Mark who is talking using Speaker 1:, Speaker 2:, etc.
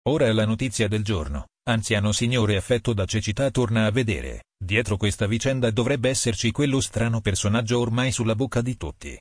Speaker 1: Ora è la notizia del giorno. Anziano signore affetto da cecità torna a vedere. Dietro questa vicenda dovrebbe esserci quello strano personaggio ormai sulla bocca di tutti.